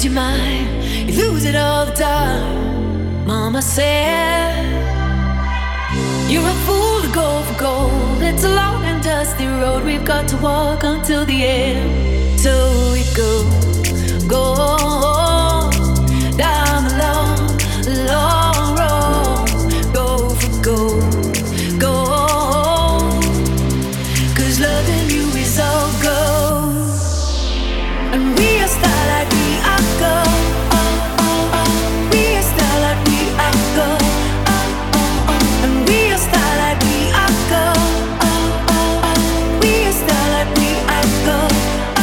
your mind, you lose it all the time. Mama said, you're a fool to go for gold. It's a long and dusty road we've got to walk until the end. So we go down the long, long road. Go for gold, gold. 'Cause loving you is all gold. And we are starlight, we are gold. We are starlight, we are gold. And we are starlight, we are gold. We are starlight, we are gold.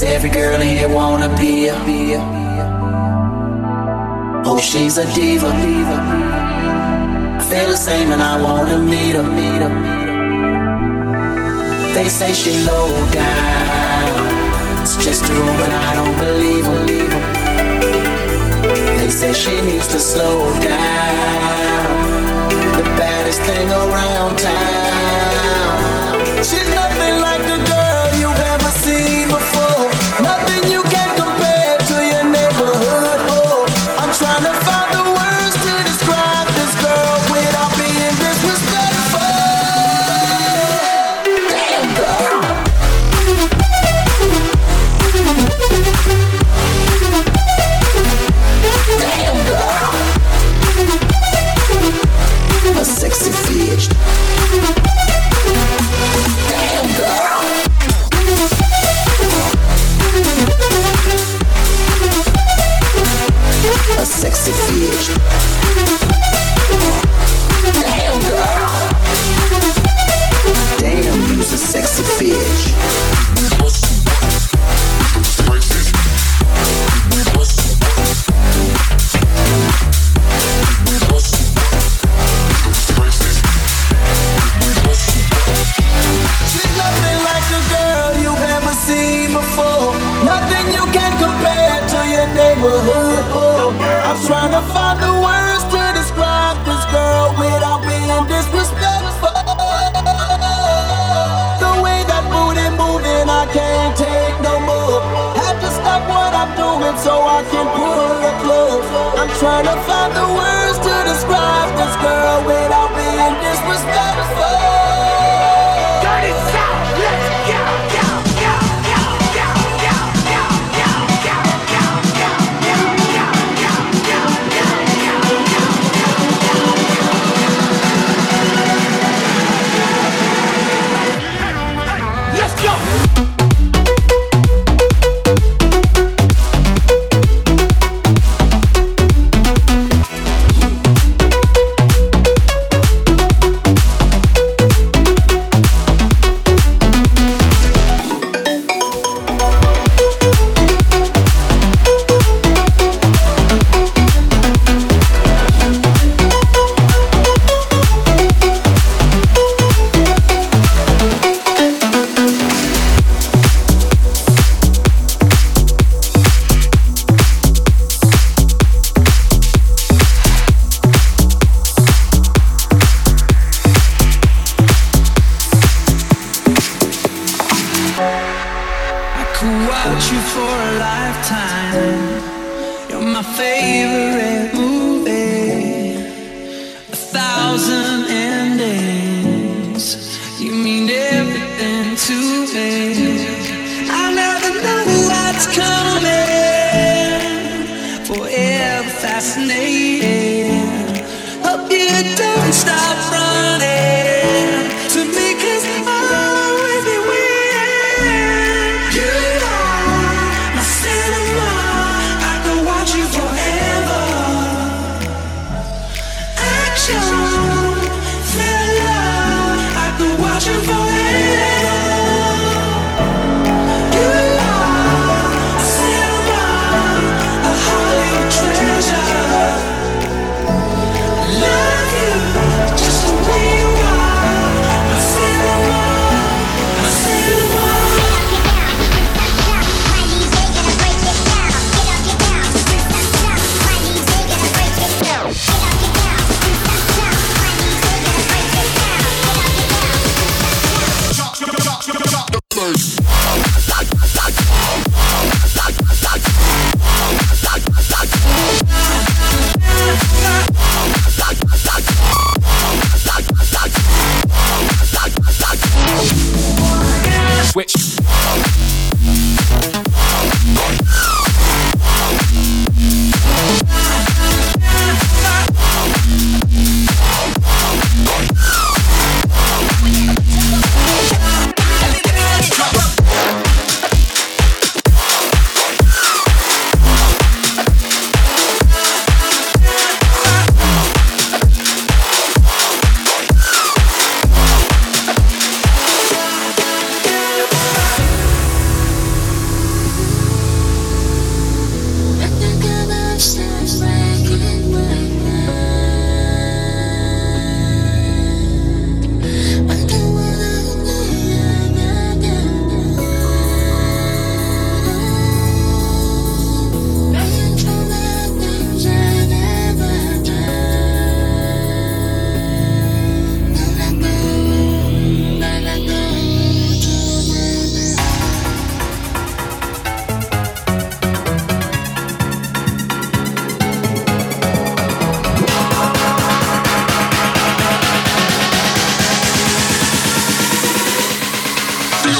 Every girl in here wanna be a. Oh, she's a diva. I feel the same and I wanna meet her. They say she low down. It's just a rumor and I don't believe her. They say she needs to slow down. The baddest thing around town. She's nothing like the girl you've ever seen before. Nothing you can compare to your neighborhood. Oh, I'm trying to find the words to describe this girl without being disrespectful. Damn girl. Damn girl. A sexy bitch. Damn girl. A sexy bitch. Damn girl. Damn, you's a sexy bitch. She's nothing like the girl you've ever seen before. Nothing you can compare to your neighborhood. Oh, I'm trying to find the words to describe this girl without being disrespectful. The way that booty moving, I can't take no more. Have to stop what I'm doing so I can pull her close. I'm trying to find the words to describe this girl without being disrespectful. Dirty South, let's go, go, go, go, go, go, go, go, go, go, go, go, go, go, go, go. Let's go!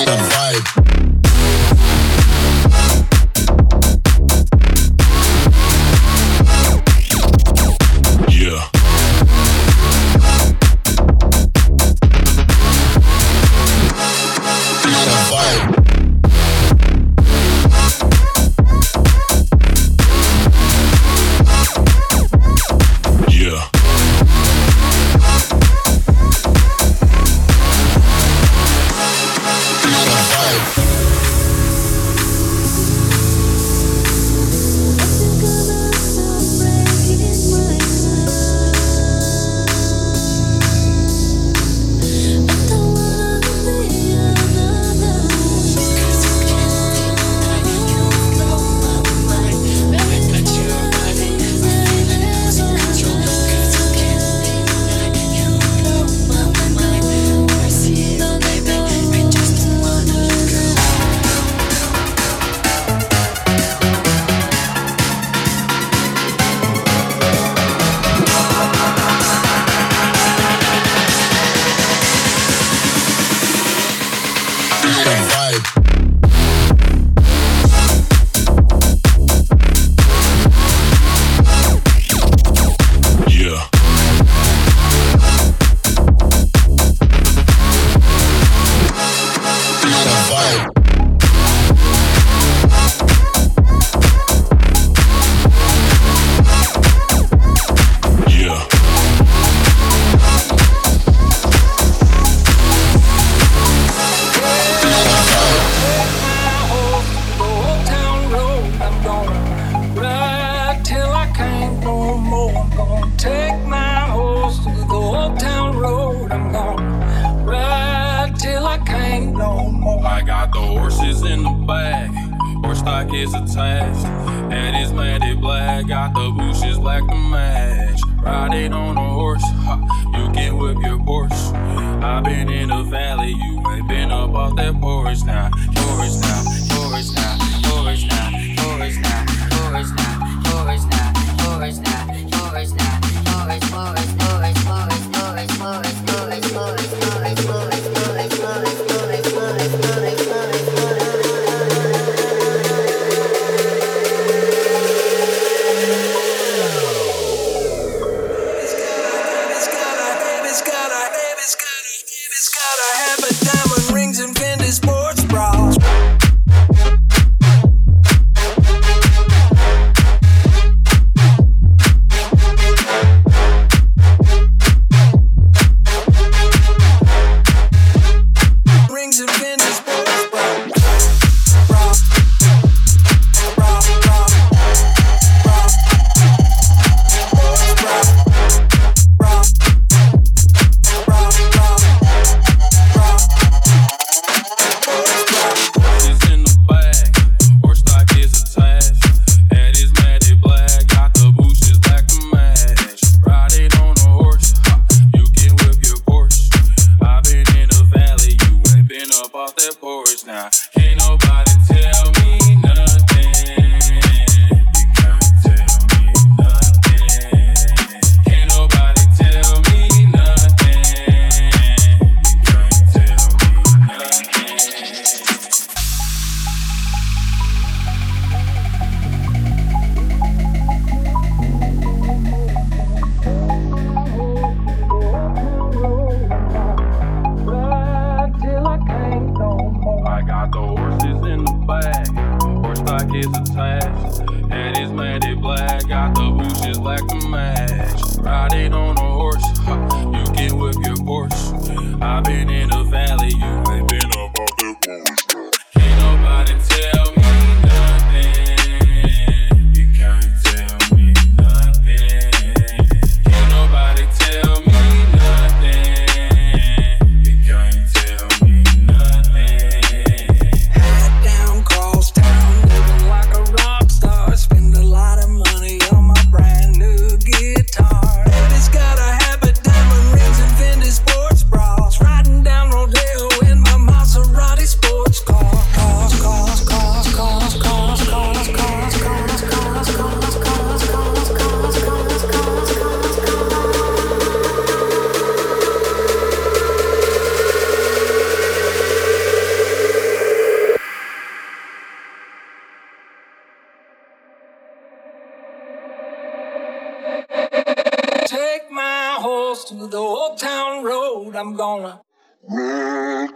Riding down road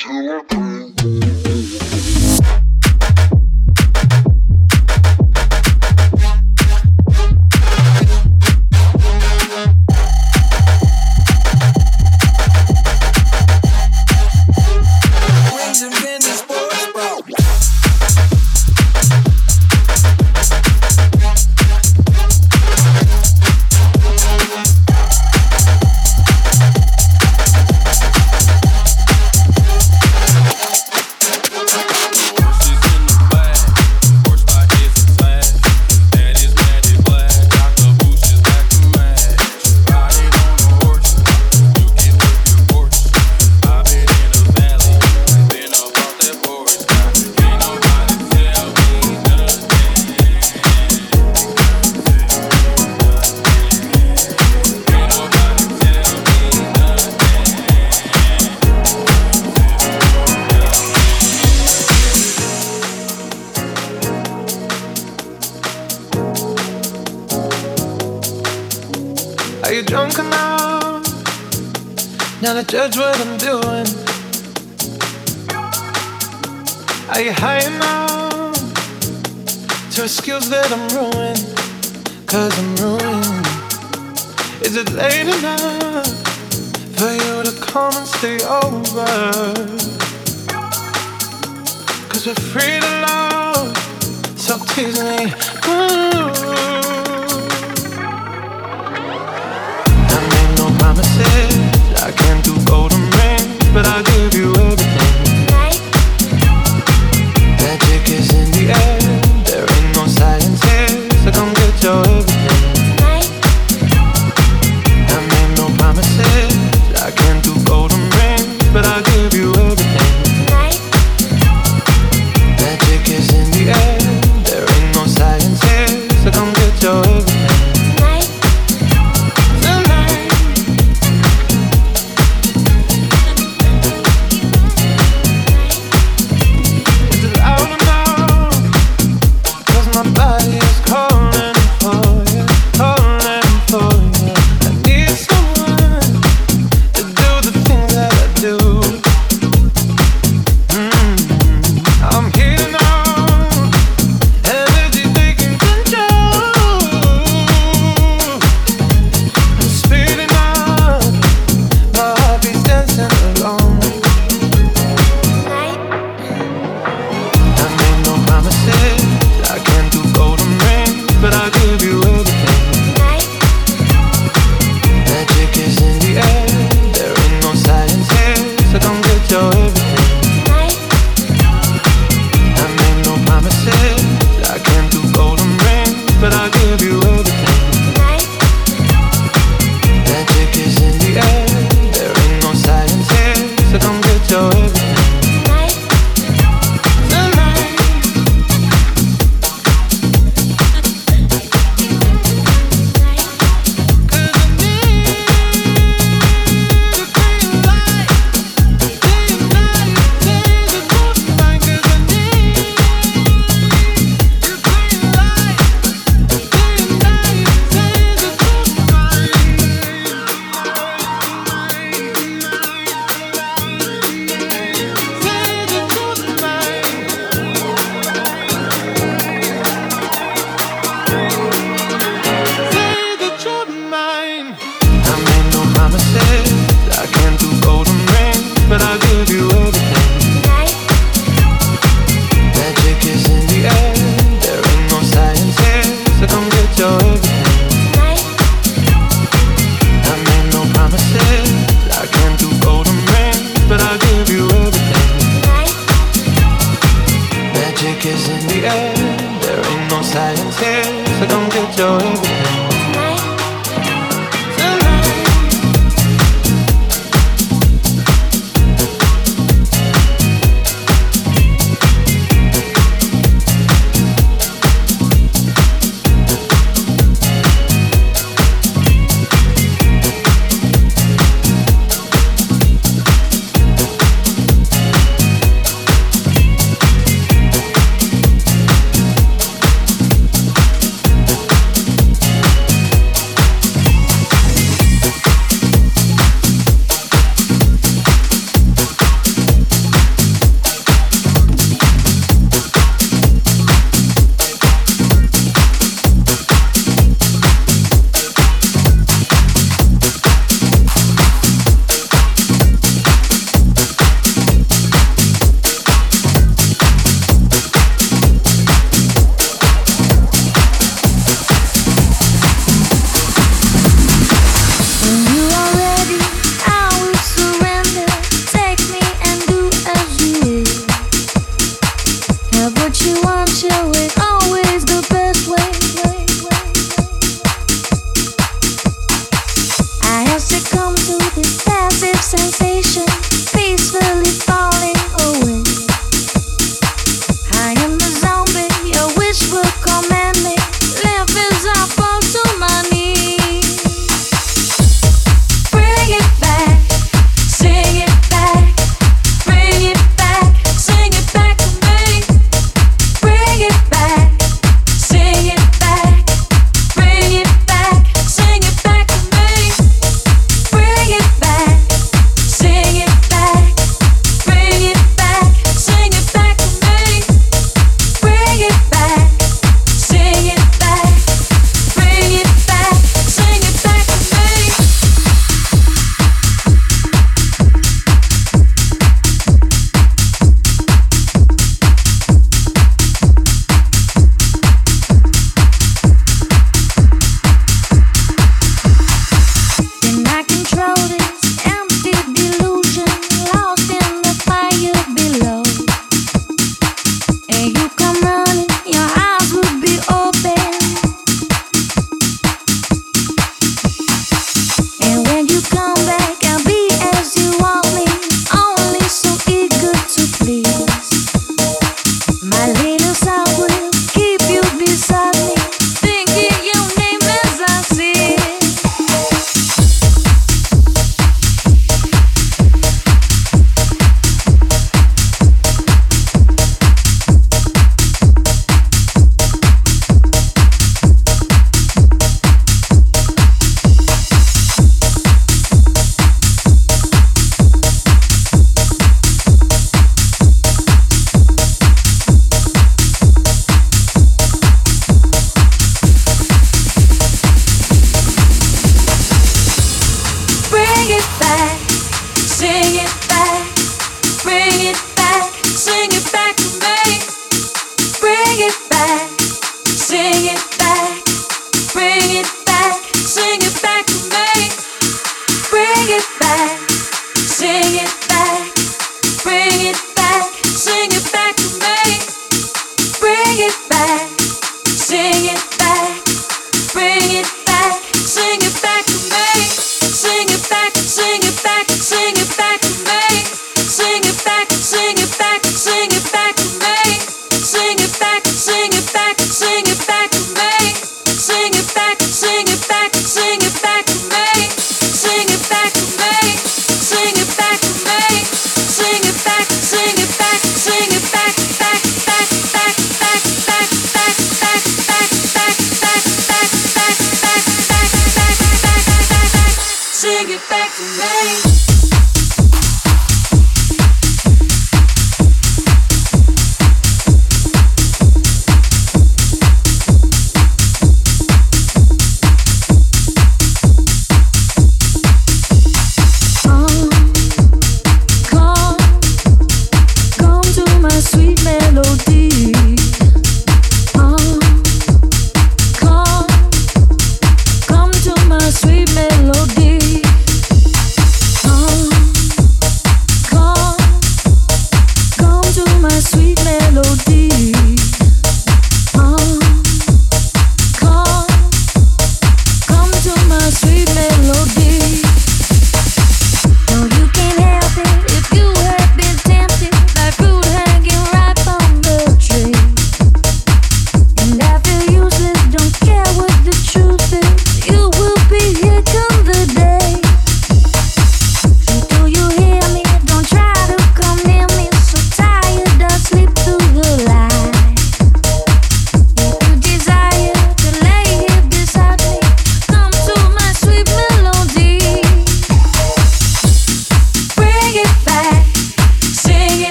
Now to judge what I'm doing. Are you high enough to excuse that I'm ruined? 'Cause I'm ruined. Is it late enough for you to come and stay over? 'Cause we're free to love, so tease me. I made no promises, I can't do golden rings, but I'll give you everything. Tonight. Magic is in the air, there ain't no science here, so come get your everything. Tonight. I made no promises, I can't do golden rings, but I'll give you everything. Tonight. Magic is in the air, there ain't no science here, so come get your everything.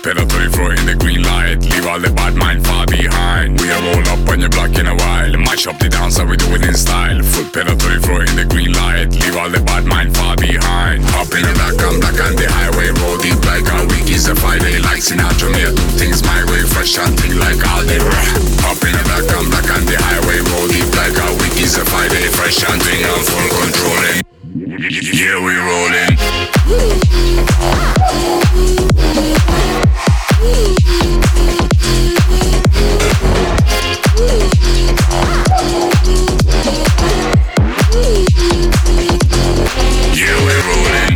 Foot pedal to the floor in the green light. Leave all the bad mind far behind. We are roll up on your block in a while. Mash up the dance and we do it in style. Foot pedal to the floor in the green light. Leave all the bad mind far behind. Up in the black, I'm black on the highway. Roll deep like a week is a Friday. Like Sinatra, me I do things my way. Fresh and thing like all day. Up in the black, I'm black on the highway. Roll deep like a week is a Friday. Fresh and thing, I'm full controlling. Yeah, we rolling. Yeah, we rolling.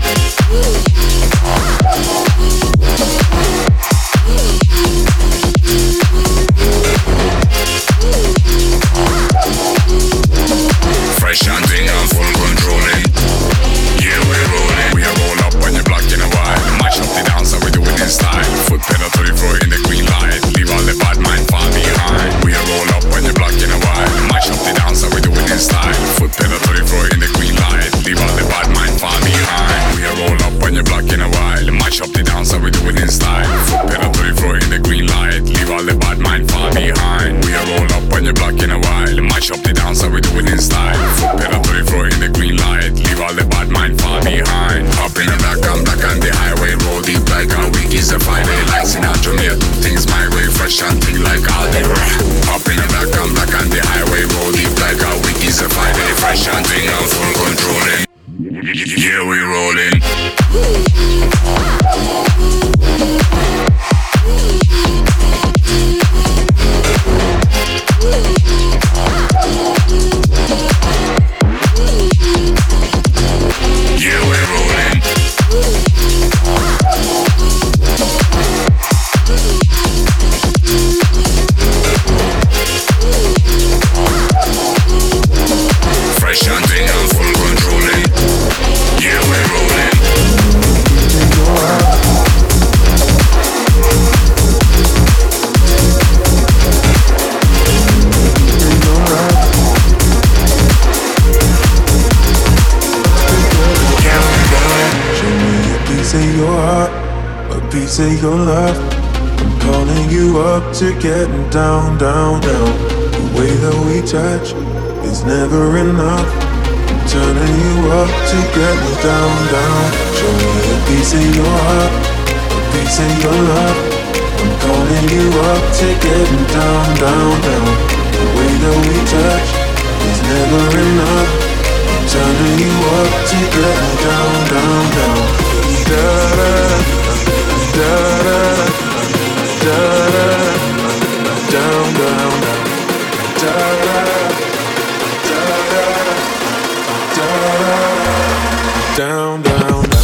Fresh and thing, I'm full controlling. Yeah, we rolling. We are roll up on your block in a while. Mash up the dance and we do it in style. Foot pedal to the floor in the green light. Leave all the bad mind far behind. We are roll up on your block in a while. Mash up the dance and we do it in style. Foot pedal to the floor in the green light. Leave all the bad mind far behind. We are roll up on your block in a while. Mash up the dance and we do it in style. Foot pedal to the floor in the green light. Leave all the bad mind far behind. We are roll up on your block in a while. Mash up the dance and we do it in style. Foot pedal to the floor in the green light. Leave all the bad mind far behind. Up in the black, I'm black on the highway. Roll deep like a week is a Friday. Like Sinatra, me I do things my way. Fresh and thing like all day. Up in the black, I'm black on the highway. Roll deep like a week is a Friday. Fresh and thing, I'm full controlling. Yeah, we rolling. Yeah, we rolling. Fresh and thing, I'm full controlling. Yeah, we rolling. Of your heart, a piece of your love. I'm calling you up to getting down, down, down. The way that we touch is never enough. I'm turning you up to getting down, down. Show me a piece of your heart, a piece of your love. I'm calling you up to getting down, down, down. The way that we touch is never enough. I'm turning you up to getting down, down, down. Da da da da da down, down, down, da da da down, down, down.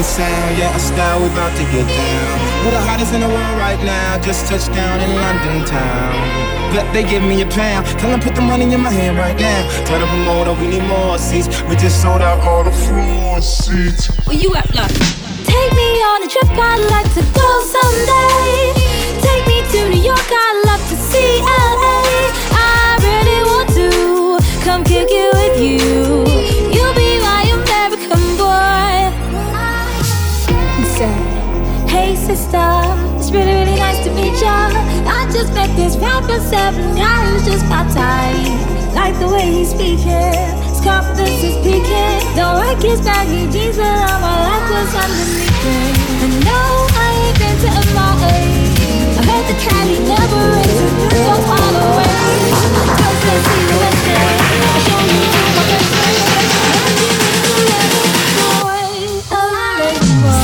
sound, yeah, a style we about to get down. We're the hottest in the world right now, just touched down in London town. But they give me a pound, tell them put the money in my hand right now. Tell the promoter we need more seats, we just sold out all the floor seats. Where you at, love? Take me on a trip, I'd like to go someday. Take me to New York, I'd love to see LA. I really want to come kick it with you. You'll be my American boy. He said, hey sister, it's really, really nice to meet ya. I just met this rapper 7 guy who's just my type. Like the way he's speaking, his confidence is peaking. Don't like his baggy jeans, but all my life was underneath it. And no, I ain't been to MIA. I heard the Cali never rains, so far away. Girls can't see the West End. I'll show you my best friend. I'll give you the boy, boy.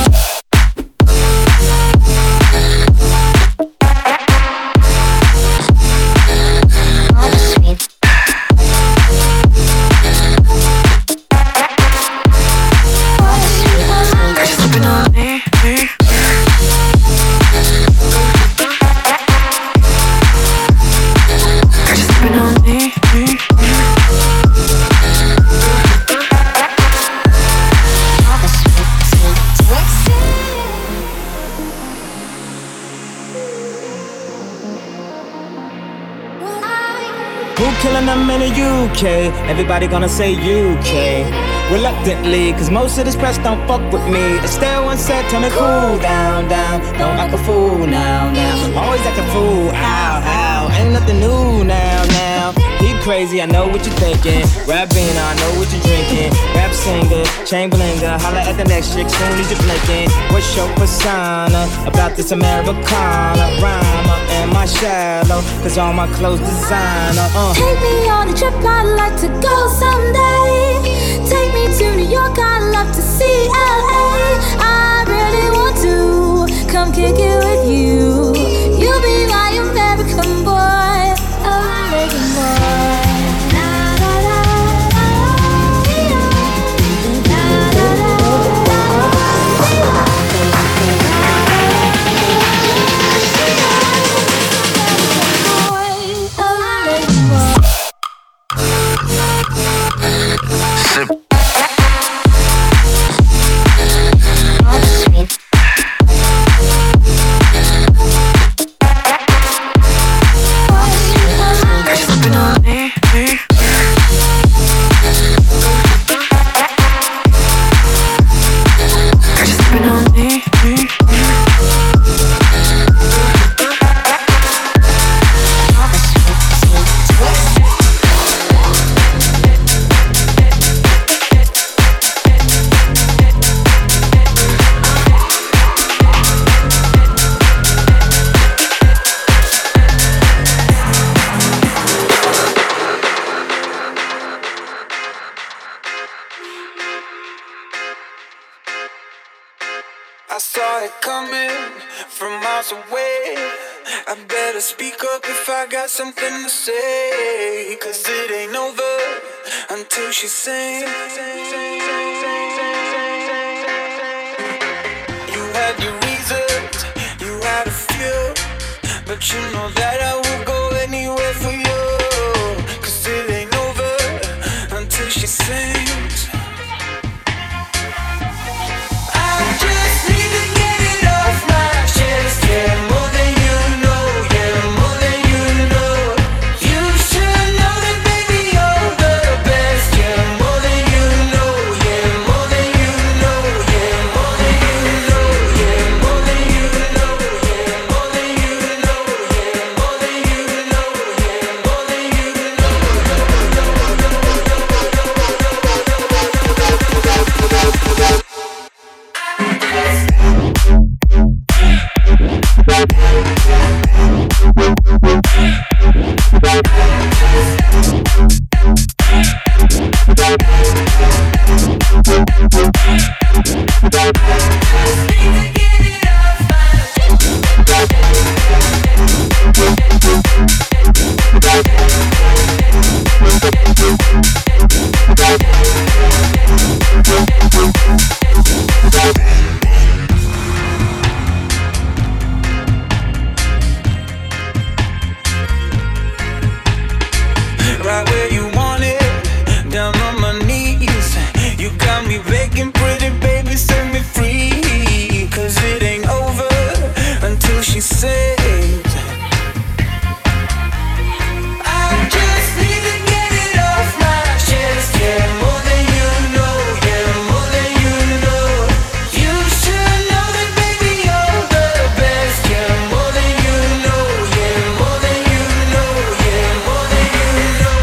Killing them in the UK, everybody gonna say UK. Reluctantly, cause most of this press don't fuck with me. Estelle once said, tell me cool down, down. Don't act a fool now, now. Always act a fool, ow, ow. Ain't nothing new now, now. He crazy, I know what you're thinking. Rappina, I know what you're drinking. Rap singer, Chamberlinger. Holla at the next chick, soon as you're blinking. What's your persona about this Americana rhymer? Am I shallow? Cause all my clothes designer. Take me on a trip, I'd like to go someday. Take me to New York, I'd love to see LA. I really want to come kick it with you. You'll be my American boy, American boy. I saw it coming from miles away. I better speak up if I got something to say. Cause it ain't over until she sings. You had your reasons, you had a few, but you know that I will go anywhere for you. Cause it ain't over until she sings. Yeah, more than you know, yeah, more than you know. You should know that, baby, you're the best. Yeah, more than you know, yeah, more than you know, yeah, more than you know, yeah, more than you know, yeah, more than you know, yeah, more than you know, yeah, more than you know. keep begging, pretty baby, set me free. Cause it ain't over until she says I just need to get it off my chest. Yeah, more than you know, yeah, more than you know. You should know that baby you're the best. Yeah, more than you know, yeah, more than you know, yeah, more than you know.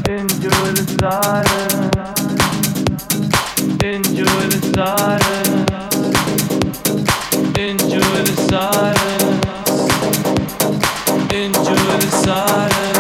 Enjoy the silence. Enjoy the silence. Enjoy the silence. Enjoy the silence.